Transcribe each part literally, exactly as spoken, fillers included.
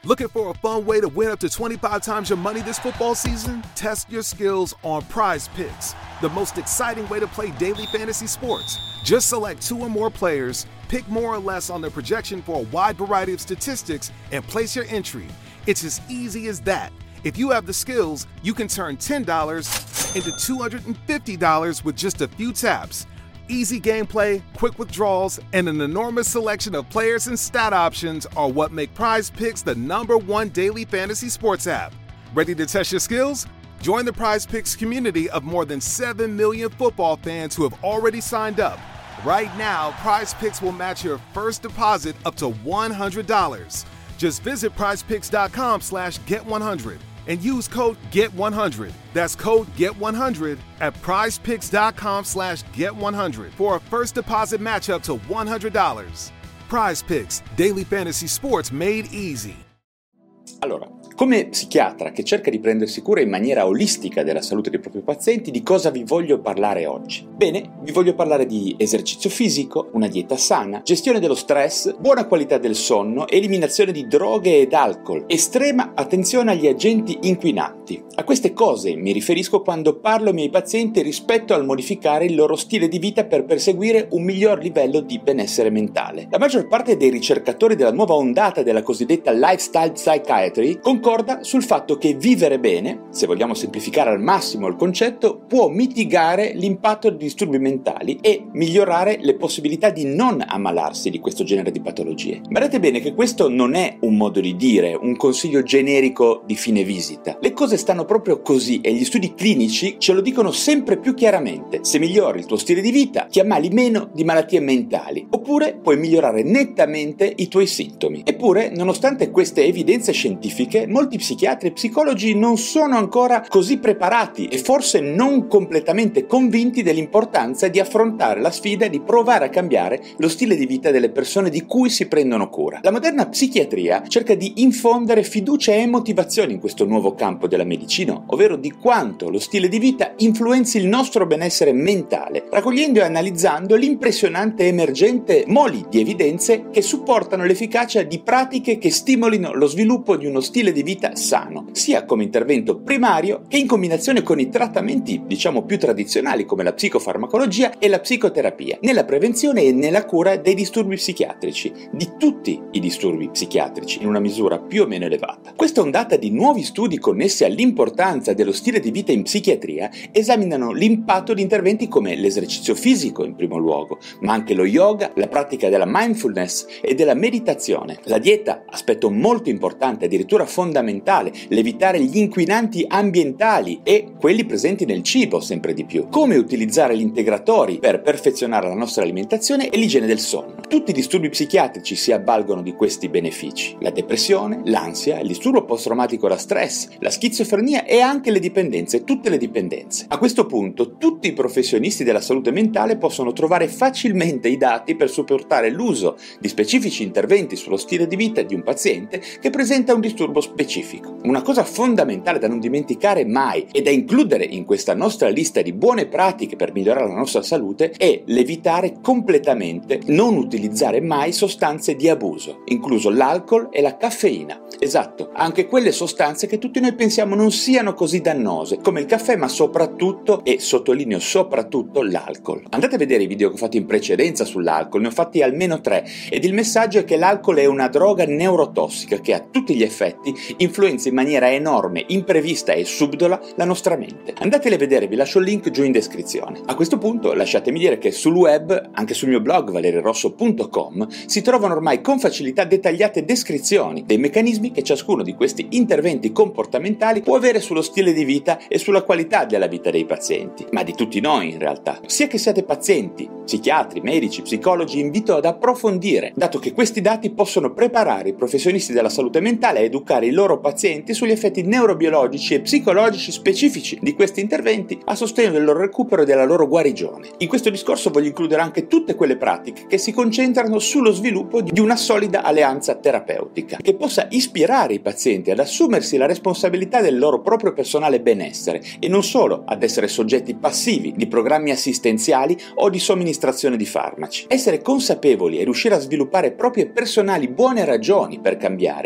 Looking for a fun way to win up to twenty-five times your money this football season? Test your skills on Prize Picks, the most exciting way to play daily fantasy sports. Just select two or more players, pick more or less on their projection for a wide variety of statistics, and place your entry. It's as easy as that. If you have the skills, you can turn ten dollars into two hundred fifty dollars with just a few taps. Easy gameplay, quick withdrawals, and an enormous selection of players and stat options are what make Prize Picks the number one daily fantasy sports app. Ready to test your skills? Join the Prize Picks community of more than seven million football fans who have already signed up. Right now, Prize Picks will match your first deposit up to one hundred dollars. Just visit prizepicks.com slash get100 and use code get one hundred. That's code get one hundred at prizepicks.com slash get one hundred for a first deposit match up to one hundred dollars. Prize Picks, daily fantasy sports made easy. Allora, come psichiatra che cerca di prendersi cura in maniera olistica della salute dei propri pazienti, di cosa vi voglio parlare oggi? Bene, vi voglio parlare di esercizio fisico, una dieta sana, gestione dello stress, buona qualità del sonno, eliminazione di droghe ed alcol, estrema attenzione agli agenti inquinanti. A queste cose mi riferisco quando parlo ai miei pazienti rispetto al modificare il loro stile di vita per perseguire un miglior livello di benessere mentale. La maggior parte dei ricercatori della nuova ondata della cosiddetta lifestyle psychiatry concorda sul fatto che vivere bene, se vogliamo semplificare al massimo il concetto, può mitigare l'impatto di disturbi mentali e migliorare le possibilità di non ammalarsi di questo genere di patologie. Badate bene che questo non è un modo di dire, un consiglio generico di fine visita. Le cose stanno proprio così e gli studi clinici ce lo dicono sempre più chiaramente. Se migliori il tuo stile di vita, ti ammali meno di malattie mentali, oppure puoi migliorare nettamente i tuoi sintomi. Eppure, nonostante queste evidenze scientifiche, molti psichiatri e psicologi non sono ancora così preparati e forse non completamente convinti dell'importanza di affrontare la sfida di provare a cambiare lo stile di vita delle persone di cui si prendono cura. La moderna psichiatria cerca di infondere fiducia e motivazione in questo nuovo campo della medicina, ovvero di quanto lo stile di vita influenzi il nostro benessere mentale, raccogliendo e analizzando l'impressionante e emergente mole di evidenze che supportano l'efficacia di pratiche che stimolino lo sviluppo di uno stile di vita sano, sia come intervento primario che in combinazione con i trattamenti, diciamo, più tradizionali come la psicofarmacologia e la psicoterapia, nella prevenzione e nella cura dei disturbi psichiatrici, di tutti i disturbi psichiatrici, in una misura più o meno elevata. Questa ondata di nuovi studi connessi all'importanza dello stile di vita in psichiatria esaminano l'impatto di interventi come l'esercizio fisico in primo luogo, ma anche lo yoga, la pratica della mindfulness e della meditazione, la dieta, aspetto molto importante, addirittura fondamentale, l'evitare gli inquinanti ambientali e quelli presenti nel cibo sempre di più, come utilizzare gli integratori per perfezionare la nostra alimentazione e l'igiene del sonno. Tutti i disturbi psichiatrici si avvalgono di questi benefici: la depressione, l'ansia, il disturbo post-traumatico da stress, la schizofrenia e anche le dipendenze, tutte le dipendenze. A questo punto tutti i professionisti della salute mentale possono trovare facilmente i dati per supportare l'uso di specifici interventi sullo stile di vita di un paziente che presenta un disturbo specifico. Una cosa fondamentale da non dimenticare mai e da includere in questa nostra lista di buone pratiche per migliorare la nostra salute è l'evitare completamente, non utilizzare mai sostanze di abuso, incluso l'alcol e la caffeina. Esatto, anche quelle sostanze che tutti noi pensiamo non siano così dannose, come il caffè, ma soprattutto, e sottolineo soprattutto, l'alcol. Andate a vedere i video che ho fatto in precedenza sull'alcol, ne ho fatti almeno tre, ed il messaggio è che l'alcol è una droga neurotossica che a tutti gli effetti influenza in maniera enorme, imprevista e subdola la nostra mente. Andateli a vedere, vi lascio il link giù in descrizione. A questo punto lasciatemi dire che sul web, anche sul mio blog valerirosso punto com, si trovano ormai con facilità dettagliate descrizioni dei meccanismi che ciascuno di questi interventi comportamentali può avere sullo stile di vita e sulla qualità della vita dei pazienti, ma di tutti noi in realtà. Sia che siate pazienti, psichiatri, medici, psicologi, invito ad approfondire, dato che questi dati possono preparare i professionisti della salute mentale a educare i loro pazienti sugli effetti neurobiologici e psicologici specifici di questi interventi a sostegno del loro recupero e della loro guarigione. In questo discorso voglio includere anche tutte quelle pratiche che si concentrano sullo sviluppo di una solida alleanza terapeutica, che possa ispirare i pazienti ad assumersi la responsabilità del loro proprio personale benessere e non solo ad essere soggetti passivi di programmi assistenziali o di somministrazione di farmaci. Essere consapevoli e riuscire a sviluppare proprie personali buone ragioni per cambiare, prima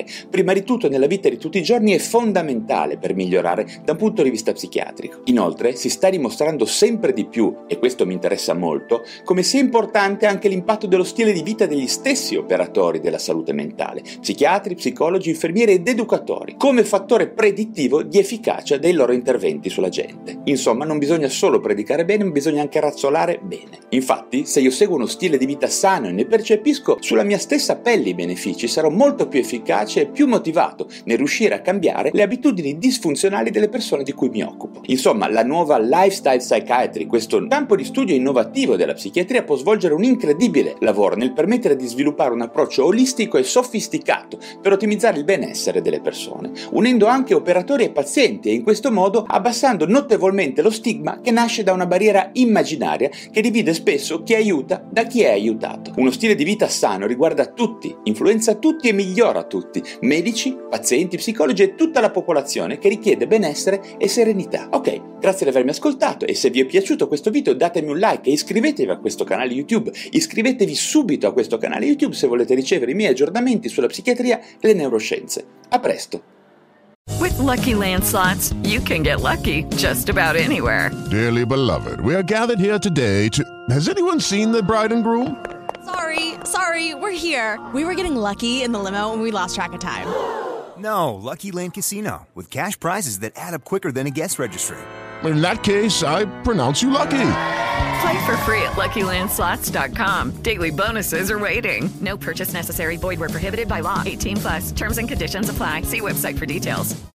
ma di tutto nella vita di tutti i giorni è fondamentale per migliorare da un punto di vista psichiatrico. Inoltre si sta dimostrando sempre di più, e questo mi interessa molto, come sia importante anche l'impatto dello stile di vita degli stessi operatori della salute mentale, psichiatri, psicologi, infermieri ed educatori, come fattore predittivo di efficacia dei loro interventi sulla gente. Insomma, non bisogna solo predicare bene, ma bisogna anche razzolare bene. Infatti, se io seguo uno stile di vita sano e ne percepisco sulla mia stessa pelle i benefici, sarò molto più efficace e più motivato nel riuscire a cambiare le abitudini disfunzionali delle persone di cui mi occupo. Insomma, la nuova Lifestyle Psychiatry, questo campo di studio innovativo della psichiatria, può svolgere un incredibile lavoro nel permettere di sviluppare un approccio olistico e sofisticato per ottimizzare il benessere delle persone, unendo anche operatori e pazienti e in questo modo abbassando notevolmente lo stigma che nasce da una barriera immaginaria che divide spesso chi aiuta da chi è aiutato. Uno stile di vita sano riguarda tutti, influenza tutti e migliora tutti, medici, pazienti, psicologi e tutta la popolazione che richiede benessere e serenità. Ok, grazie di avermi ascoltato e se vi è piaciuto questo video datemi un like e iscrivetevi a questo canale YouTube. Iscrivetevi subito a questo canale YouTube se volete ricevere i miei aggiornamenti sulla psichiatria e le neuroscienze. A presto! With Lucky Land Slots, you can get lucky just about anywhere. Dearly beloved, we are gathered here today to... Has anyone seen the bride and groom? Sorry, sorry, we're here. We were getting lucky in the limo and we lost track of time. No, Lucky Land Casino, with cash prizes that add up quicker than a guest registry. In that case, I pronounce you lucky. Play for free at Lucky Land Slots dot com. Daily bonuses are waiting. No purchase necessary. Void where prohibited by law. eighteen plus. Terms and conditions apply. See website for details.